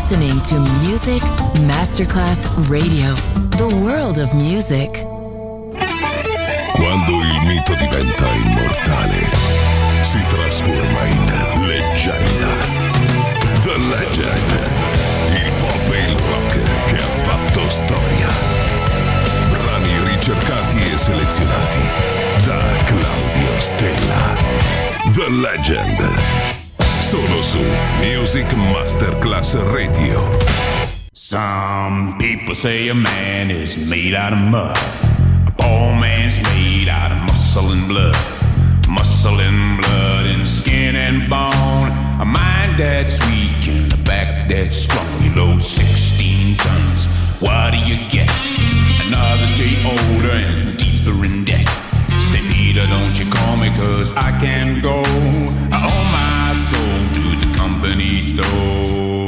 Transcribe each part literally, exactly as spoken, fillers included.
listening to Music Masterclass Radio, the world of music. Quando il mito diventa immortale, si trasforma in leggenda. The Legend, il pop e il rock che ha fatto storia. Brani ricercati e selezionati da Claudio Stella. The Legend, solo su Music Masterclass Radio. Some people say a man is made out of mud. A poor man's made out of muscle and blood. Muscle and blood and skin and bone. A mind that's weak and a back that's strong. You load sixteen tons. What do you get? Another day older and deeper in debt. Say, Peter, don't you call me, cause I can't go. I owe my soul to the company store.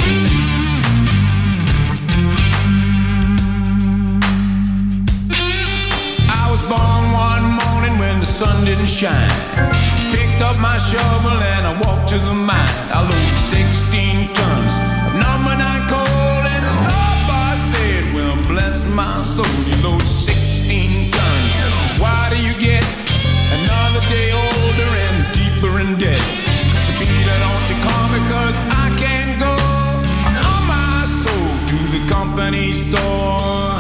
I was born one morning when the sun didn't shine. Picked up my shovel and I walked to the mine. I loaded sixteen tons of number nine coal, and the star boss said, well, bless my soul, you load sixteen tons. Why do you get another day older and deeper in debt? So Peter, don't you call me, cause I can't go. I owe my soul to the company store.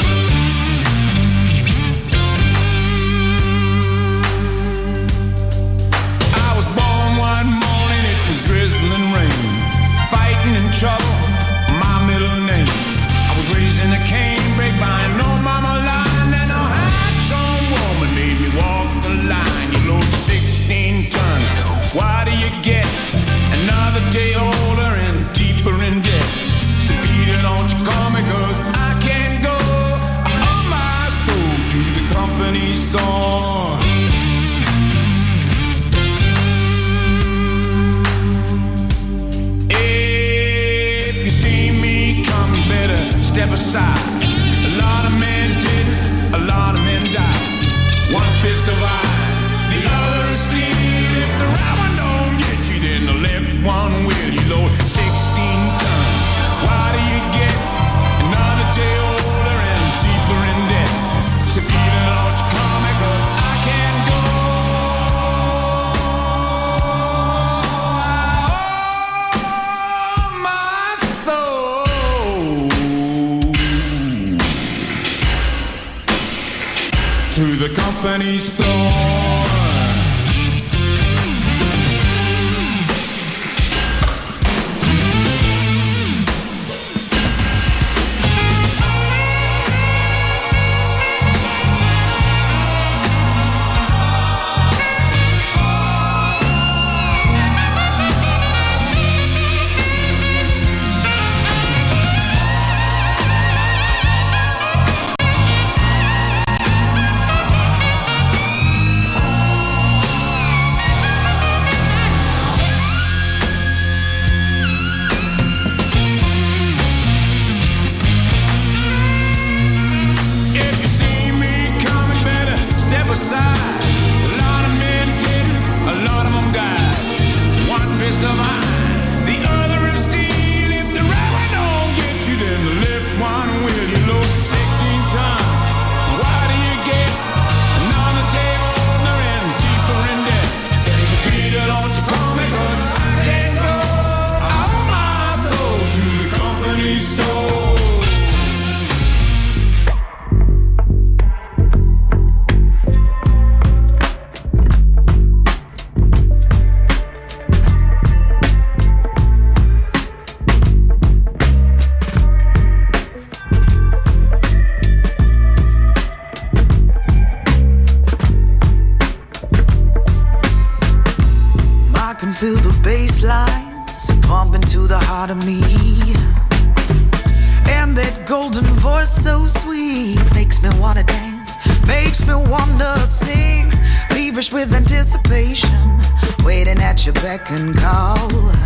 I was born one morning, it was drizzling rain. Fighting in trouble, my middle name. I was raised in a canebrake by an old mama line, and a high-tone woman made me walk the line. You load sixteen tons, why do you get another day older and deeper in debt? So Peter, don't you call me, cause I can't go. I owe my soul to the company store. If you see me coming, better step aside. A lot of men did, a lot of men died. One fist of iron, the other is steel. If the right one don't get you, then the left one will. You load sixteen tons. Why do you get another day older and deeper in debt? So Peter, don't you call me, cause I can't go. I owe my soul to the company store. And call.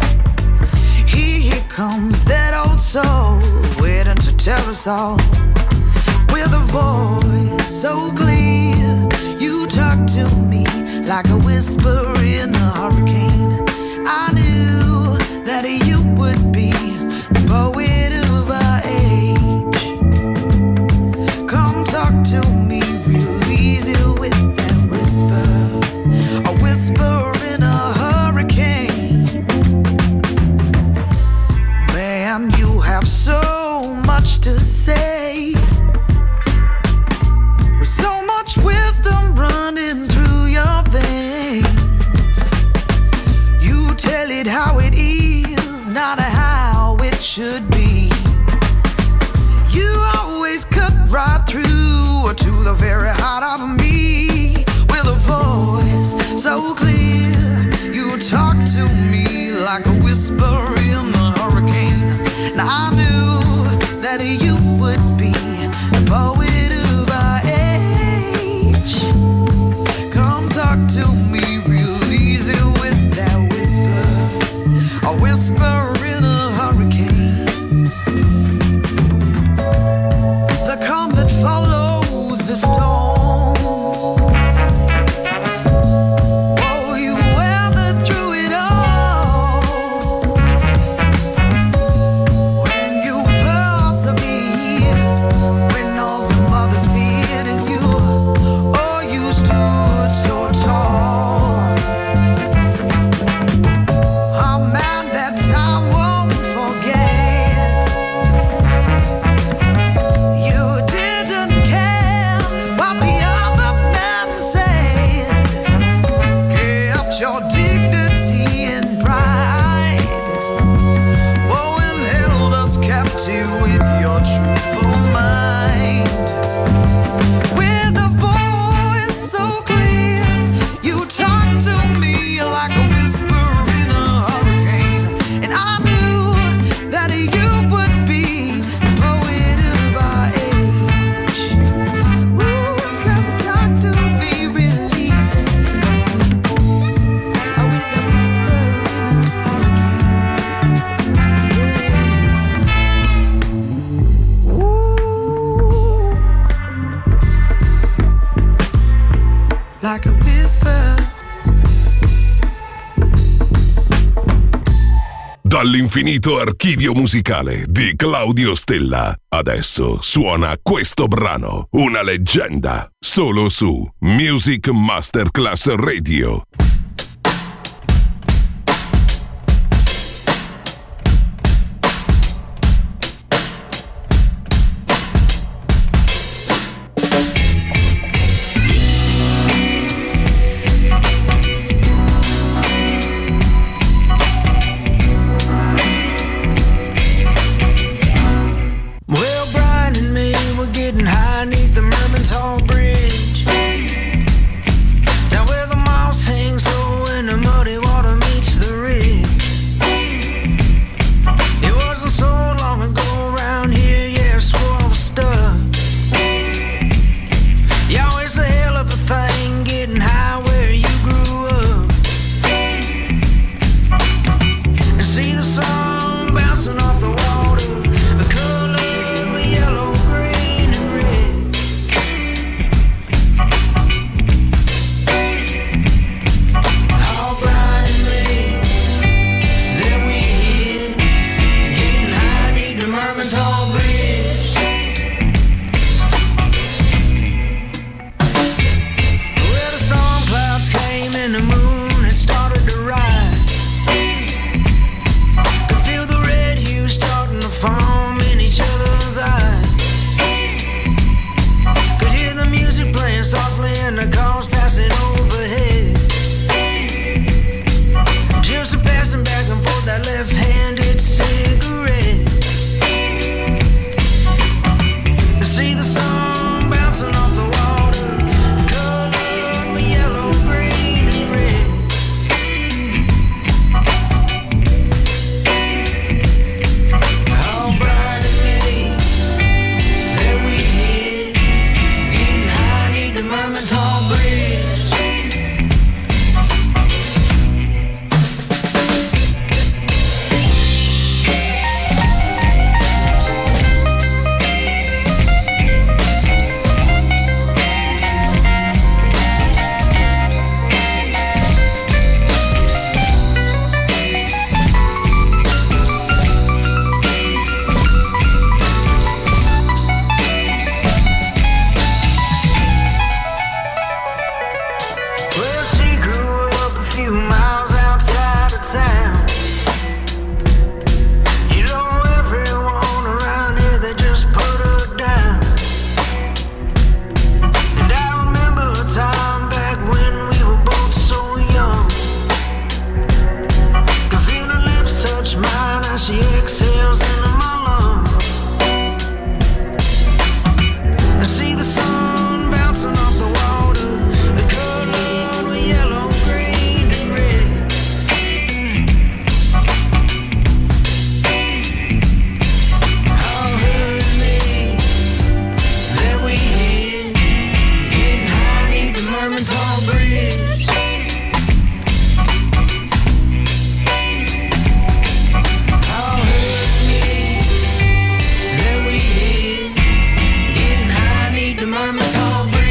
Here, here comes that old soul, waiting to tell us all. With a voice so clear, you talk to me like a whisper in a hurricane. I knew that you would be the poet who to say. With so much wisdom running through your veins, you tell it how it is, not how it should be. You always cut right through to the very heart of me. With a voice so clear, you talk to me like a whisper in the hurricane. Now I knew that you would be a poet of our age. Come talk to me real easy with that whisper, a whisper in a hurricane. The calm that follows the storm. Dall'infinito archivio musicale di Claudio Stella, adesso suona questo brano, una leggenda, solo su Music Masterclass Radio. Bright she exhales into my lungs. I see the sun bouncing off the water, colored with yellow, green, and red. How hurt me that we hit, getting high neath the Merman's Hall Bridge. How hurt me that we hit, getting high neath the Merman's Hall Bridge.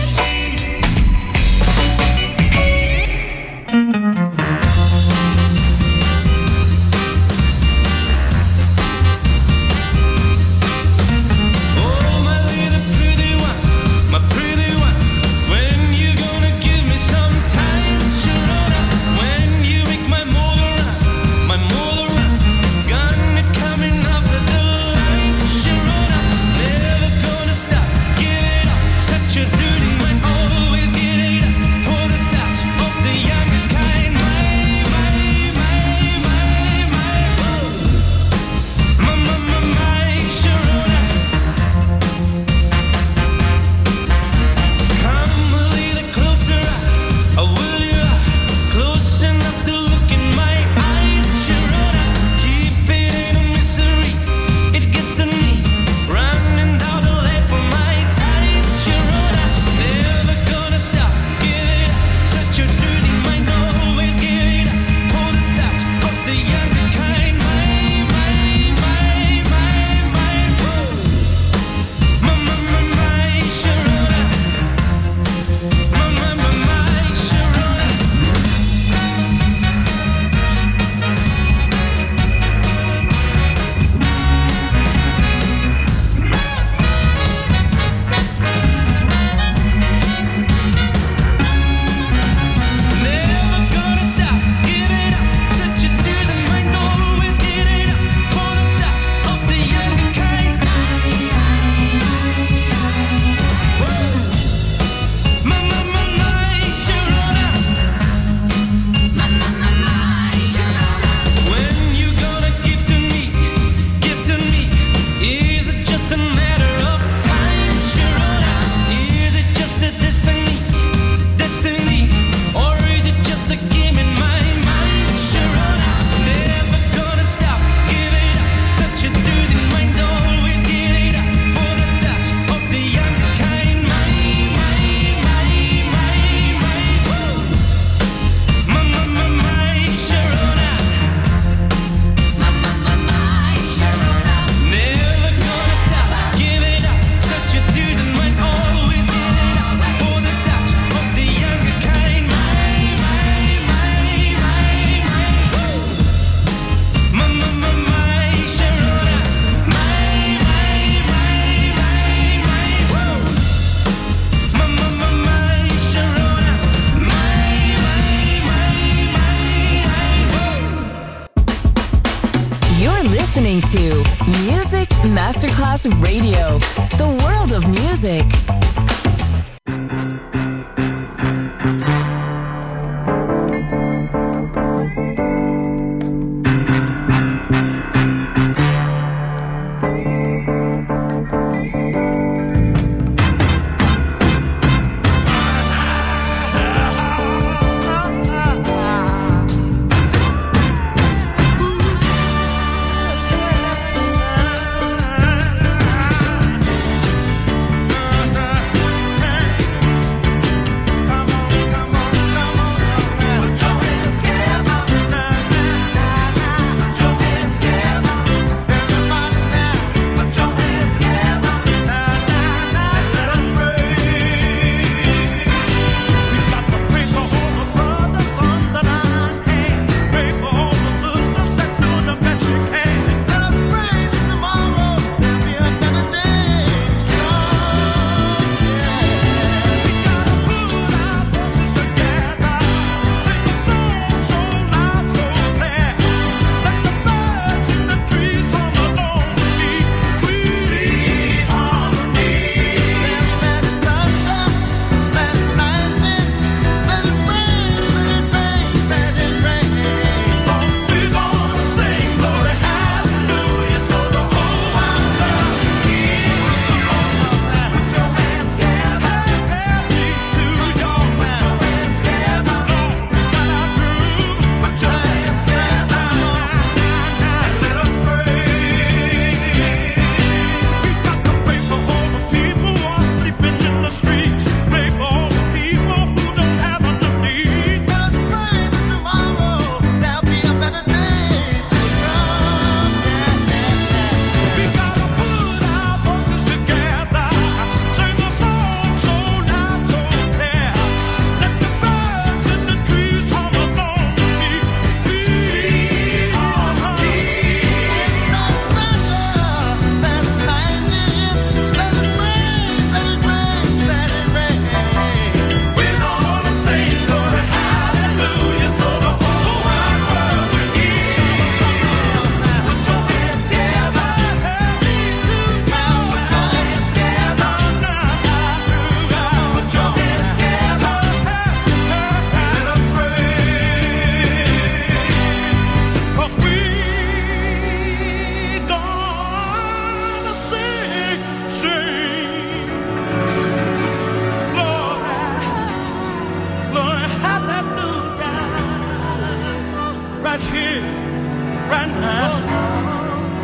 Oh, my little pretty one, my pretty one, when you gonna give me some time, Sharona? When you make my motor run, my motor run, gun it coming off of the line, Sharona. Never gonna stop, give it up, such a dirty mind, always get it up for the touch of the younger kind. My, my, my, my, my, oh. My, my, my, my, Sharona. Come a little closer, I will you close enough to look in my eyes, Sharona. Keep it in a misery, it gets to me, running down the lane for my thighs, Sharona. Never gonna stop, give it up, such a dirty mind, always give it up for the touch of the younger kind. My, my, my, my, my, woo. My, my, my, my, Sharona. My, my, my, my, Sharona. Never gonna stop, give it up, such a dirty mind, always get it up for the touch of the younger kind. Woo. My, my, my, my, Sharona. When you gonna give to me, give to me, is it just a matter of time, Sharona? Is it just a destiny, destiny, or is it just a game in my mind, Sharona? Never gonna stop, give it up, such a dirty mind, always give it up for the touch of the younger kind. My, my, my, my, my, woo. My, my, my, my, Sharona. My, my, my, my, Sharona. Never gonna stop, give it up, such a dirty mind, always give it up for the touch of the younger kind. My, my, my, my, my, woo. My, my, my, my, Sharona. My, my, my, my, my, woo. My, my, my, my, Sharona. My, my, my, my, woo. You're listening to Music Masterclass Radio, the world of music. Uh-huh.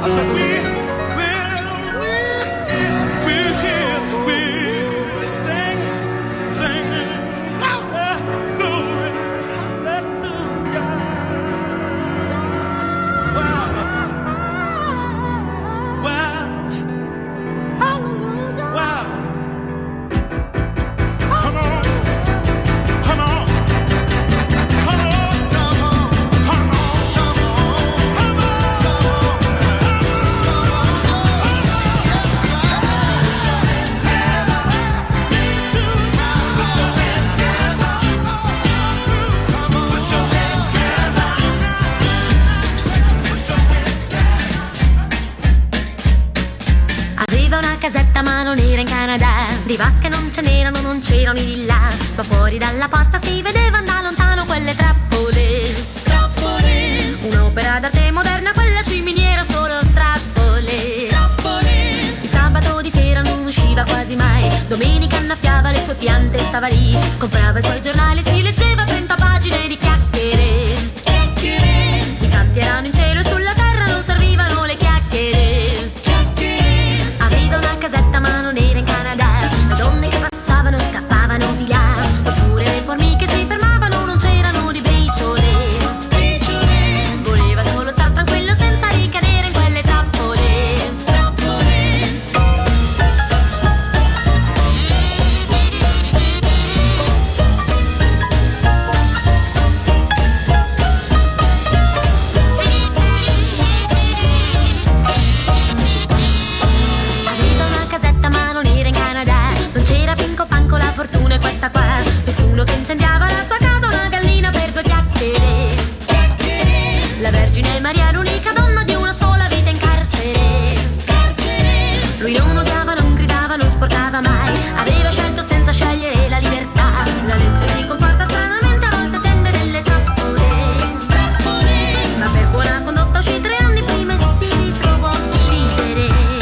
Di vasche non ce n'erano, non c'erano di là, ma fuori dalla porta si vedevano da lontano quelle trappole. Trappole. Un'opera d'arte moderna, quella ciminiera, solo trappole. Trappole. Il sabato di sera non usciva quasi mai, domenica annaffiava le sue piante e stava lì, comprava i suoi giornali, si leggeva trenta pagine di chiacchiere. Chiacchiere. I santi erano in cielo e sulla terra non servivano le chiacchiere. Chiacchiere. Aveva una casetta ma non era in Canada, donne che passavano scappavano di là, oppure le formiche si fermavano, non c'erano di briciole. Briciole. Voleva solo star tranquillo senza ricadere in quelle trappole. Trappole. Aveva una casetta ma non era in Canada, non c'era pinco panco, la fortuna è questa qua, nessuno che incendiava la sua casa, una gallina per due chiacchiere. Chiacchiere. La Vergine Maria, l'unica donna di una sola vita in carcere. Carcere. Lui non odiava, non gridava, non sporcava mai, aveva scelto senza scegliere la libertà. La legge si comporta stranamente, a volte tende delle trappole. Trappole. Ma per buona condotta uscì tre anni prima e si ritrovò a uccidere.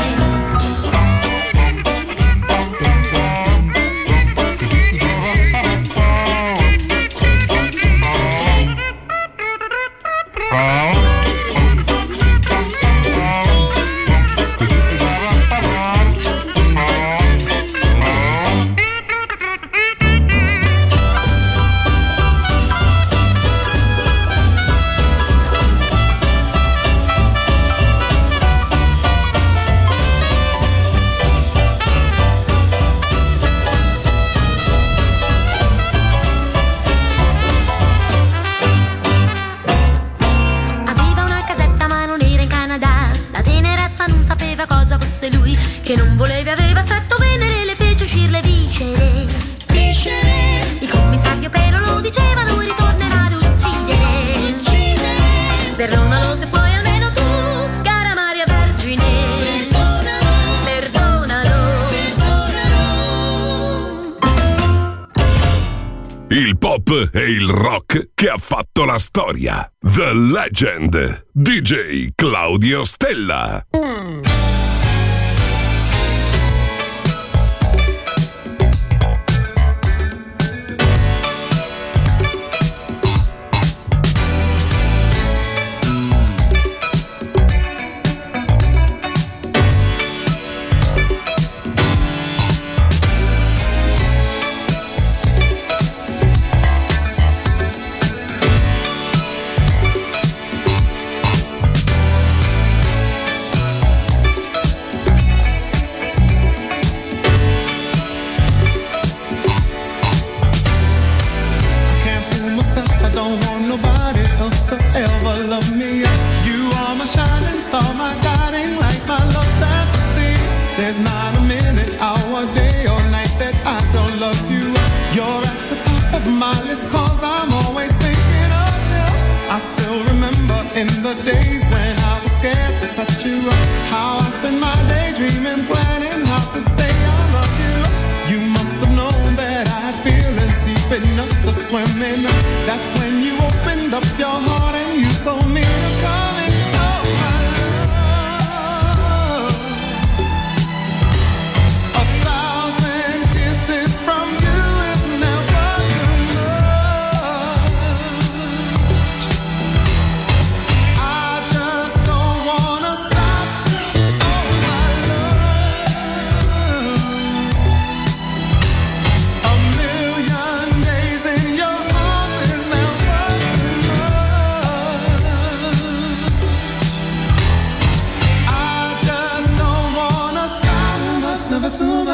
Aveva una casetta ma non era in Canada, la tenerezza non sapeva cosa fosse lui, che non voleva, aveva stretto venere, le fece uscire le viscere. Viscere. Il commissario però lo diceva, lui ritornerà ad uccidere. Uccidere. Perdonalo se puoi almeno tu, cara Maria Vergine. Perdonalo. Perdonalo. Perdonalo. Il pop e il rock che ha fatto la storia. The Legend. D J Claudio Stella. There's not a minute, hour, day or night that I don't love you. You're at the top of my list, cause I'm always thinking of you. I still remember in the days when I was scared to touch you, how I spent my day dreaming, planning how to say I love you. You must have known that I had feelings deep enough to swim in. That's when you opened up your heart and you told me to come in. Stop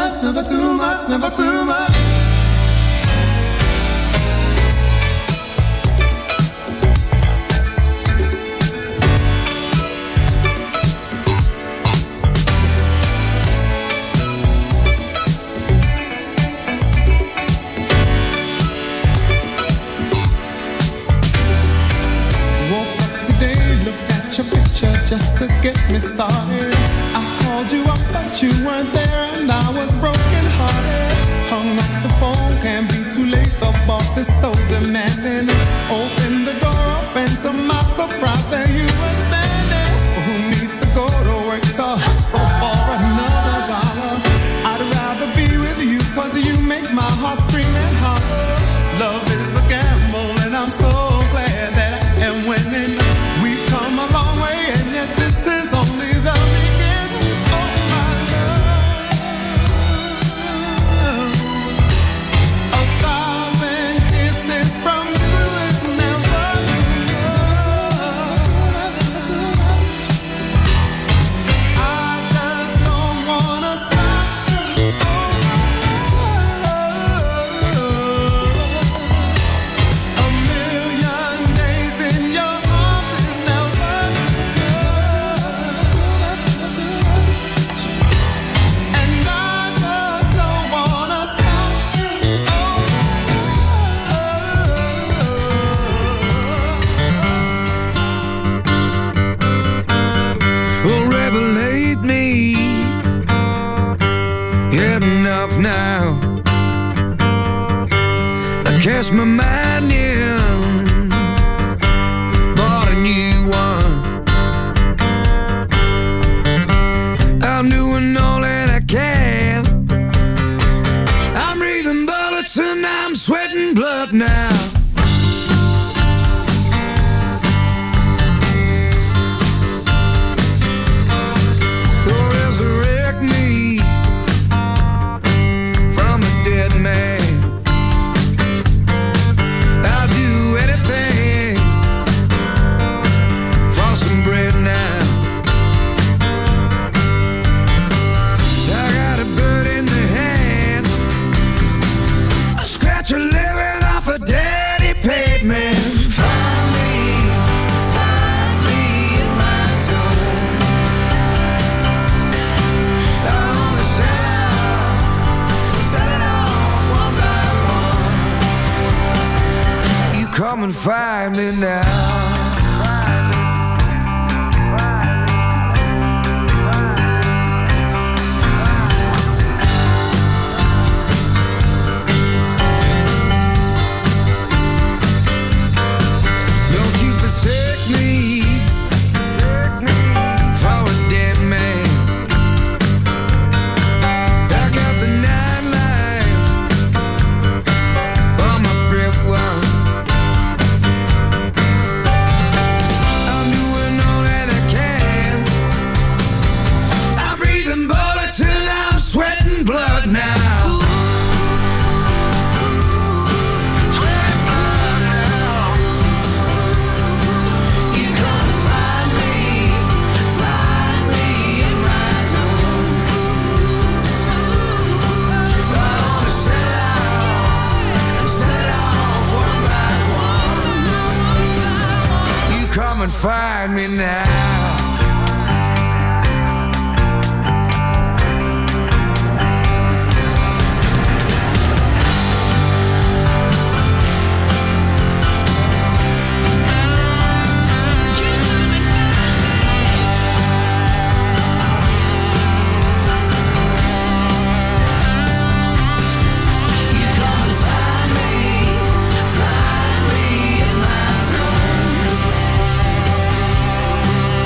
much, never too much, never too much. Just to get me started, I called you up but you weren't there and I was broken hearted. Hung up the phone, can't be too late, the boss is so demanding. Open the door up and to my surprise there you were standing. Who needs to go to work to hustle for another dollar? I'd rather be with you cause you make my heart scream and holler. Love is a gamble and I'm so glad that I am winning. We've come a long way and yet this is only the beginning. Oh my love, a thousand kisses from you is never too much. I just don't wanna stop. A million days in your arms is never too much. And I just don't wanna stop. Oh, revelate me. Had enough now. I cast my mind in, bought a new one. I'm doing all that I can. I'm breathing bullets and I'm sweating blood now. Oh, resurrect me from a dead man. I'll do anything for some bread now. I got a bird in the hand, a scratch a living off a daddy paid man. Find me, find me in my tomb. I wanna sell out, sell it off one by one. You come and find me now. Don't you forsake me for a dead man. I got the nine lives on my fifth one. I'm doing all that I can. I'm breathing bullets and I'm sweating blood now. You come and find me, find me in my tomb. I wanna sell out, sell it off one by one. You come and find me now. You come and find me, find me in my tomb.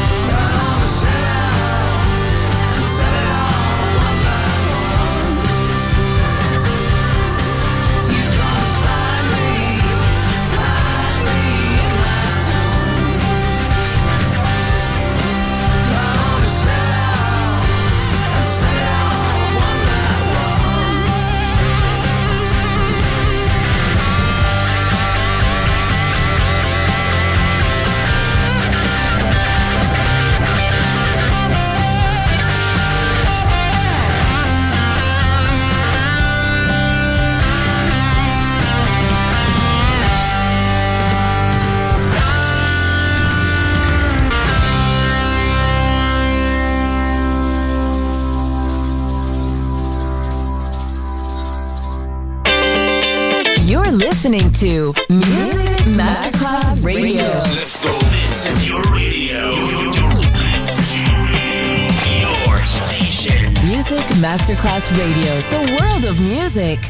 listening to Music Masterclass Radio. Let's go. This is your radio. Your station. Music Masterclass Radio. The world of music.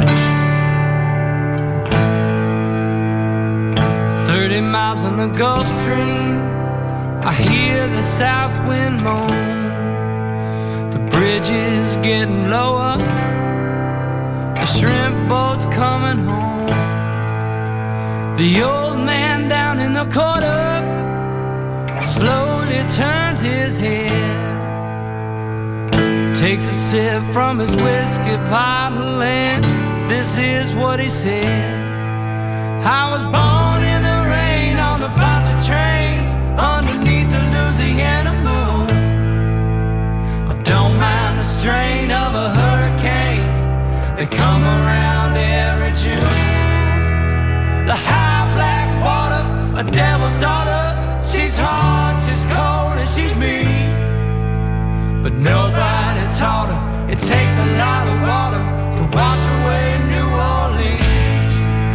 Thirty miles on the Gulf Stream, I hear the south wind moan. The bridge is getting lower, the shrimp boat's coming home. The old man down in the corner slowly turns his head, takes a sip from his whiskey bottle, and this is what he said. I was born in the rain on the bouncy train underneath the Louisiana moon. I don't mind the strain of a hurricane, they come around every June. The high black water, a devil's daughter, she's hard, she's cold, and she's mean. But nobody taught her it takes a lot of water to wash away New Orleans.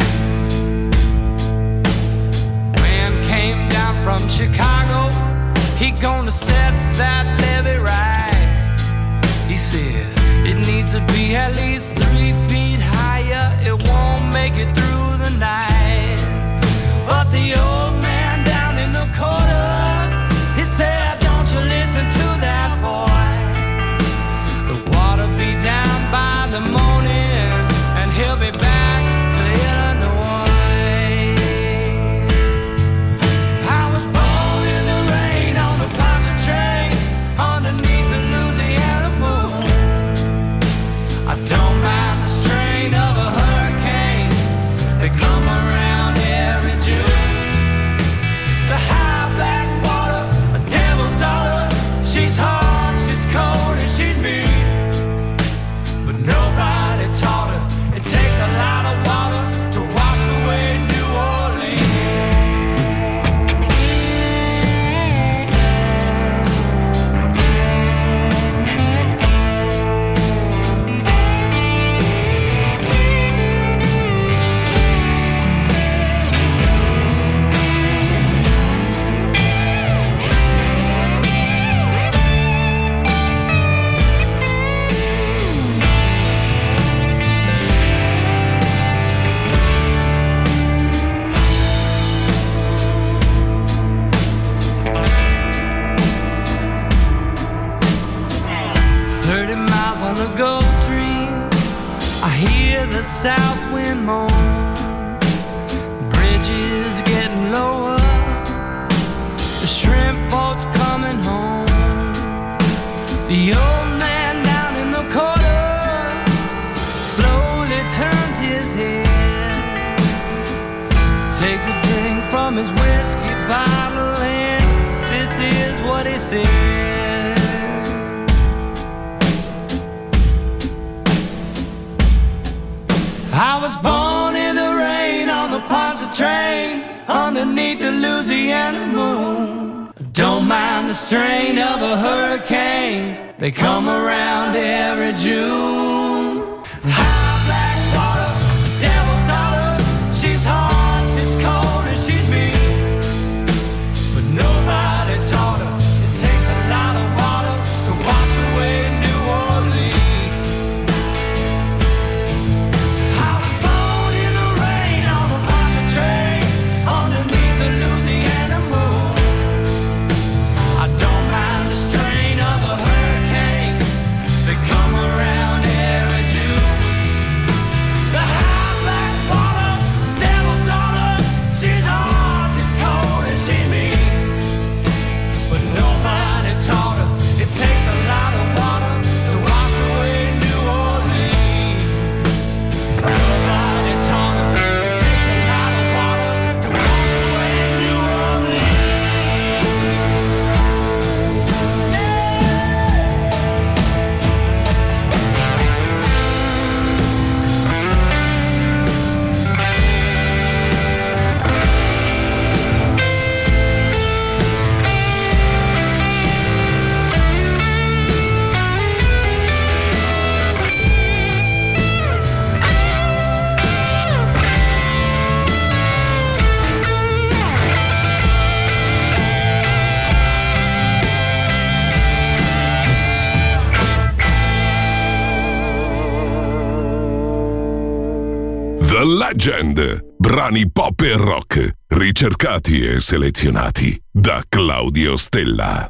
Man came down from Chicago, he gonna set that levee right. He says it needs to be at least three feet higher, it won't make it through the night. But the old man down in the corner, he said, don't you listen to that boy. The water be down by the morning, and he'll be back to Illinois. I was born in the rain on the Poncha train underneath the Louisiana moon. I don't mind the strain of a hurricane, they come around every June. The high black water, a devil's daughter, she's hard, she's cold, and she's mean. But nobody taught her it takes a lot of water to wash away New Orleans. Thirty miles on the Gulf Stream, I hear the south wind moan. Bridge is getting lower, the shrimp boat's coming home. The old man down in the corner slowly turns his head, takes a drink from his whiskey bottle, and this is what he said. I was born in the rain on the Poncha train underneath the Louisiana moon. Don't mind the strain of a hurricane, they come around every June. High black water, devil's daughter, she's hard, she's cold, and she's mean. But nobody taught her it takes a lot of water to wash away New Orleans. Come around here. The Legend. Brani pop e rock, ricercati e selezionati da Claudio Stella.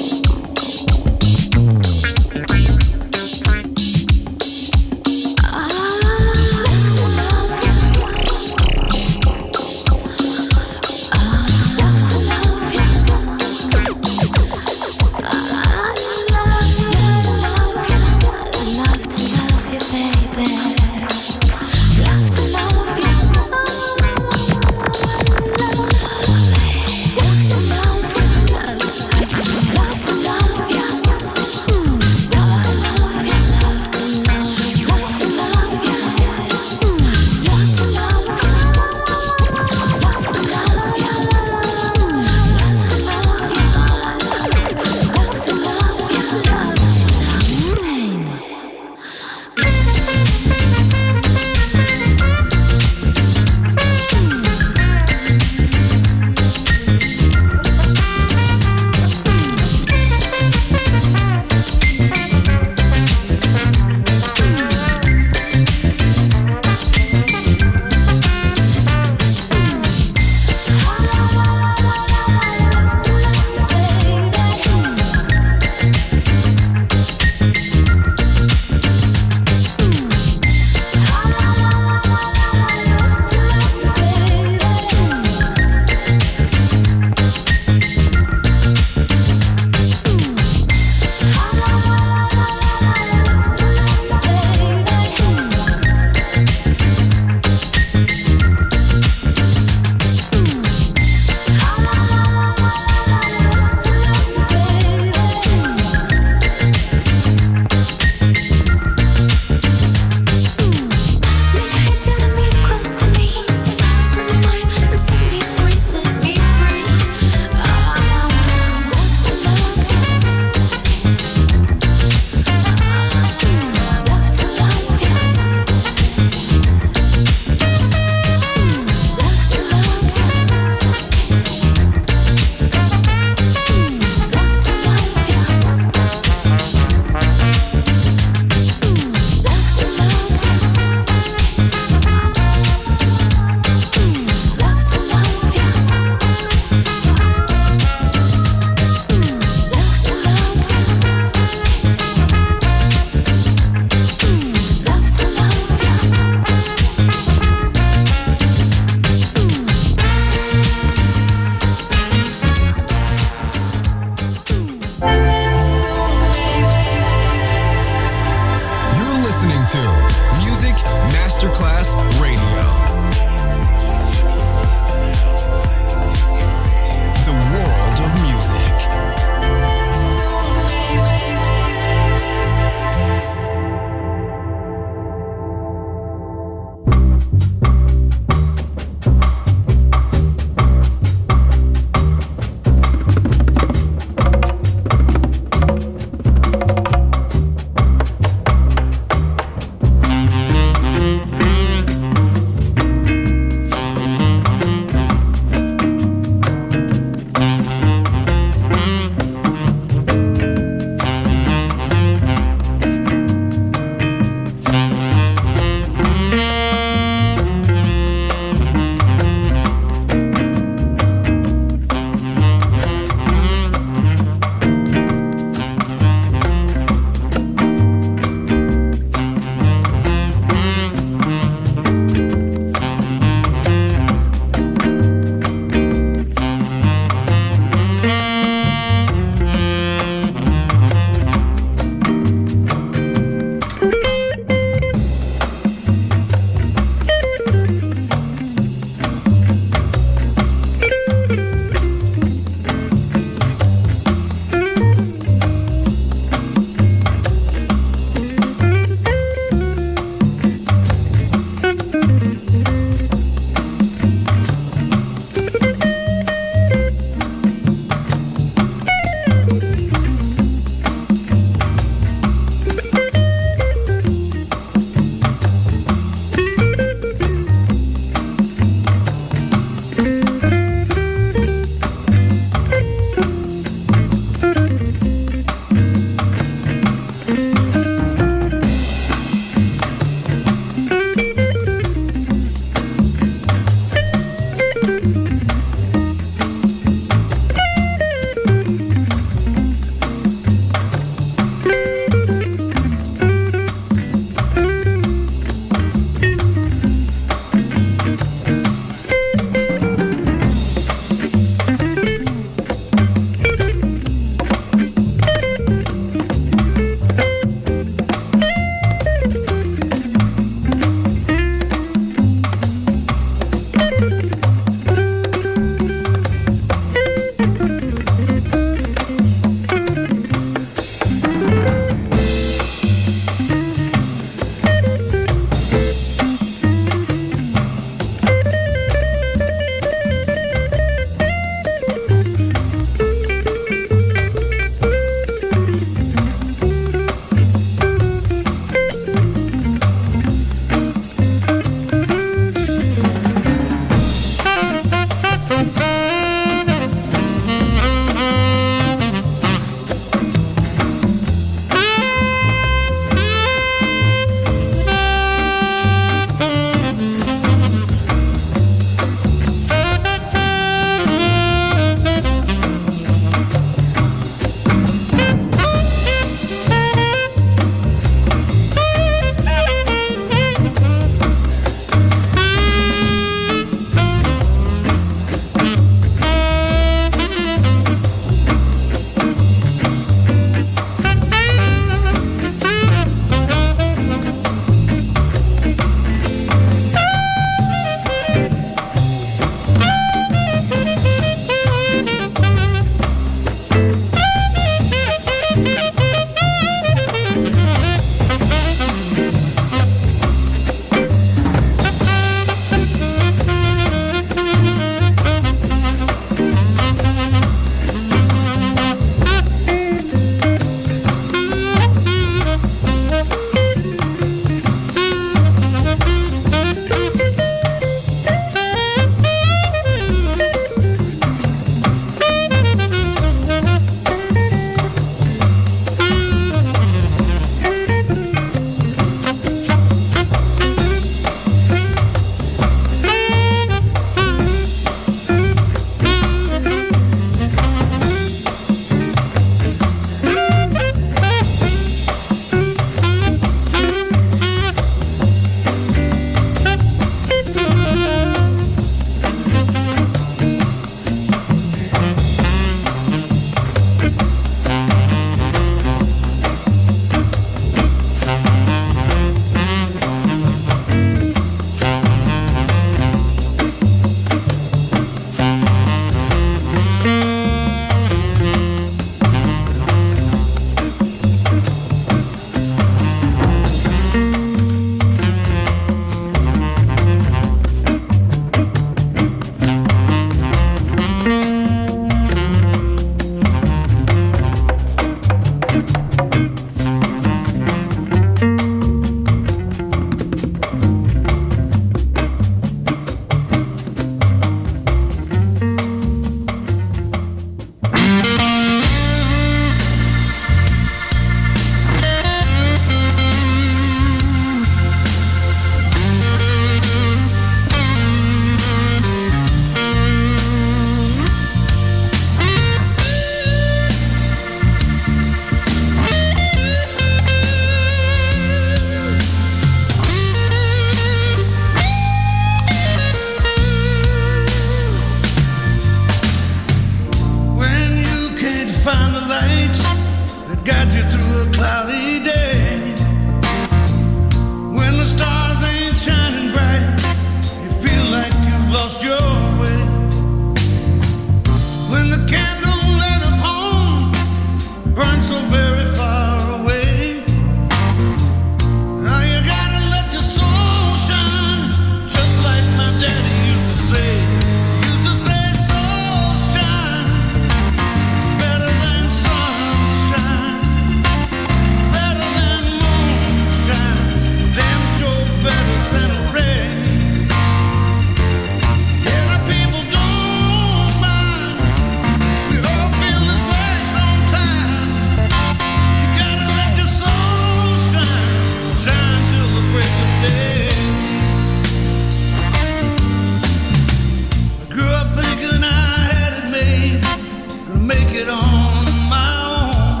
it on my own.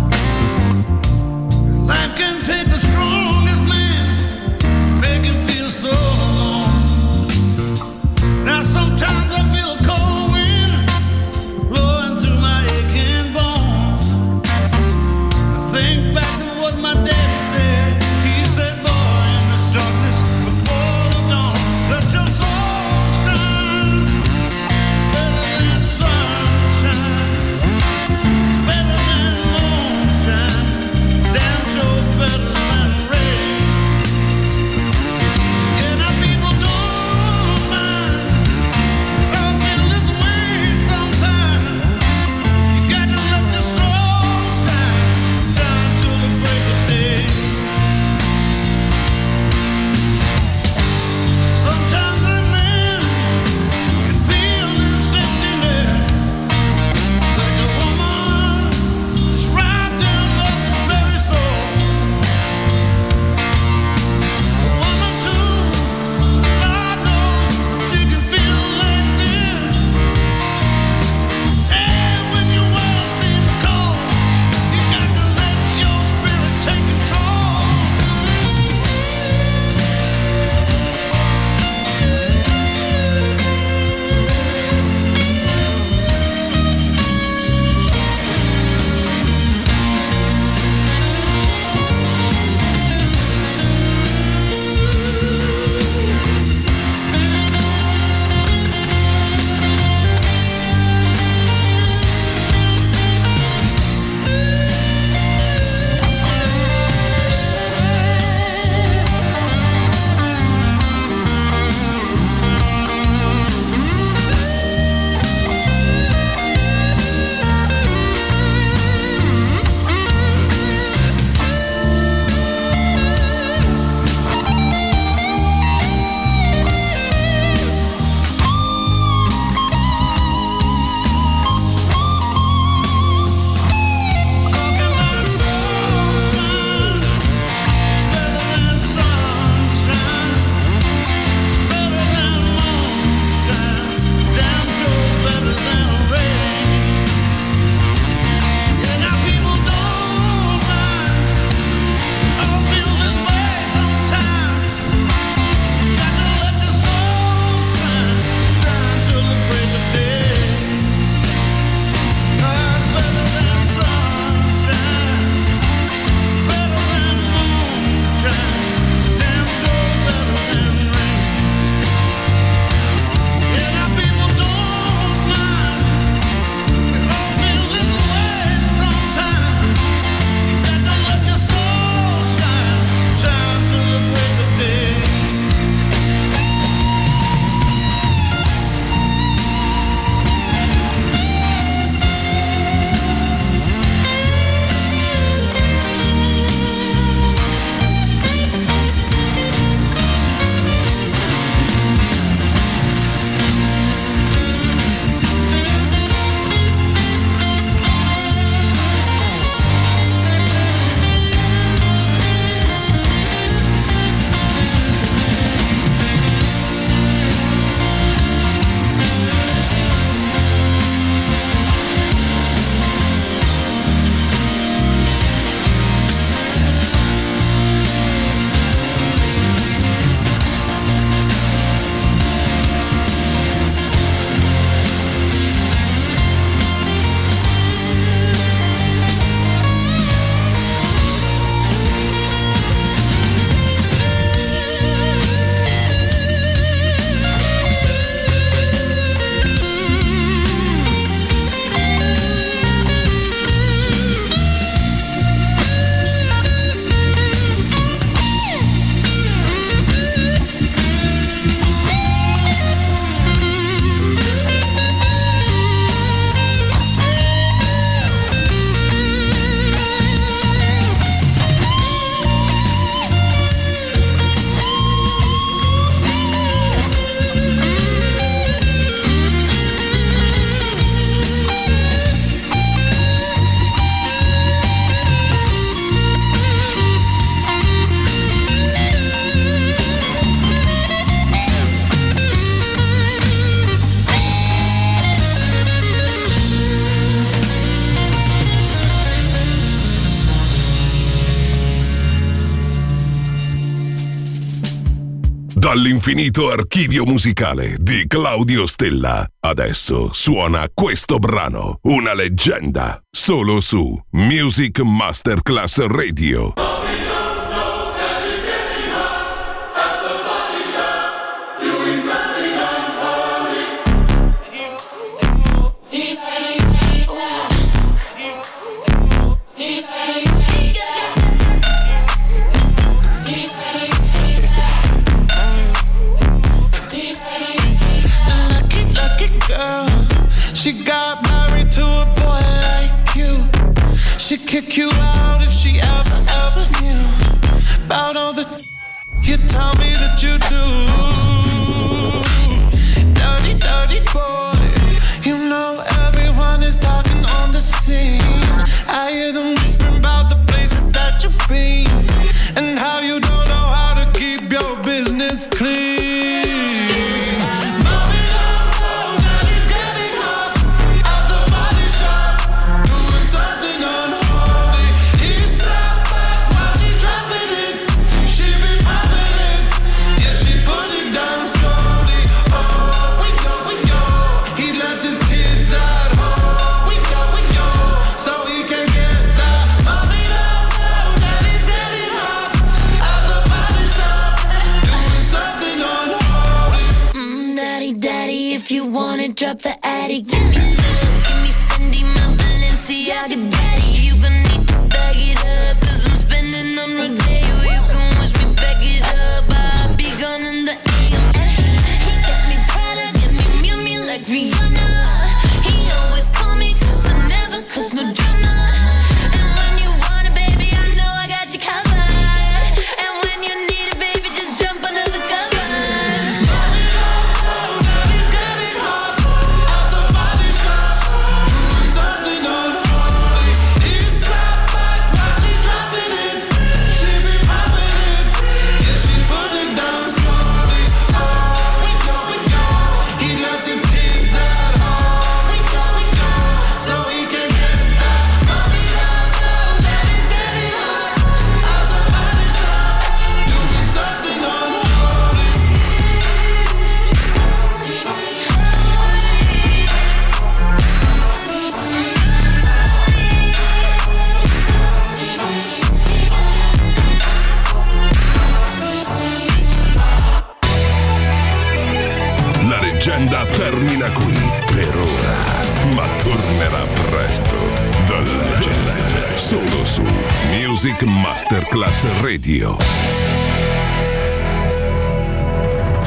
Life can take the strongest man, make him feel so alone. Now sometimes I feel a cold wind blowing through my aching bones. I think back to what my daddy said. He said, boy, in this darkness before the dawn, let your soul shine. It's better than sunshine. Dall'infinito archivio musicale di Claudio Stella. Adesso suona questo brano, una leggenda, solo su Music Masterclass Radio. She got married to a boy like you. She'd kick you out if she ever, ever knew about all the you tell me that you do. Dirty, dirty boy. You know everyone is talking on the scene. I hear them whispering about the places that you've been and how you don't know how to keep your business clean. Drop the attic, give me love, give me Fendi, my Balenciaga daddy. You gon' need to bag it up, cause I'm spending on Rodeo. You can wish me back it up, I'll be gone in the A M. He got me Prada, got me Miu Miu like Rihanna. He always call me cause I never cause no drama. And when you want it, baby, I know I got you covered. And when you need it, baby, just jump under the cover. Leggenda termina qui per ora, ma tornerà presto. The Legend, solo su Music Masterclass Radio.